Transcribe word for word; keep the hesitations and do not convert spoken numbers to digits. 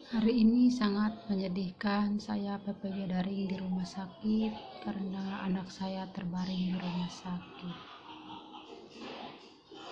Hari ini sangat menyedihkan, saya P P G daring di rumah sakit karena anak saya terbaring di rumah sakit.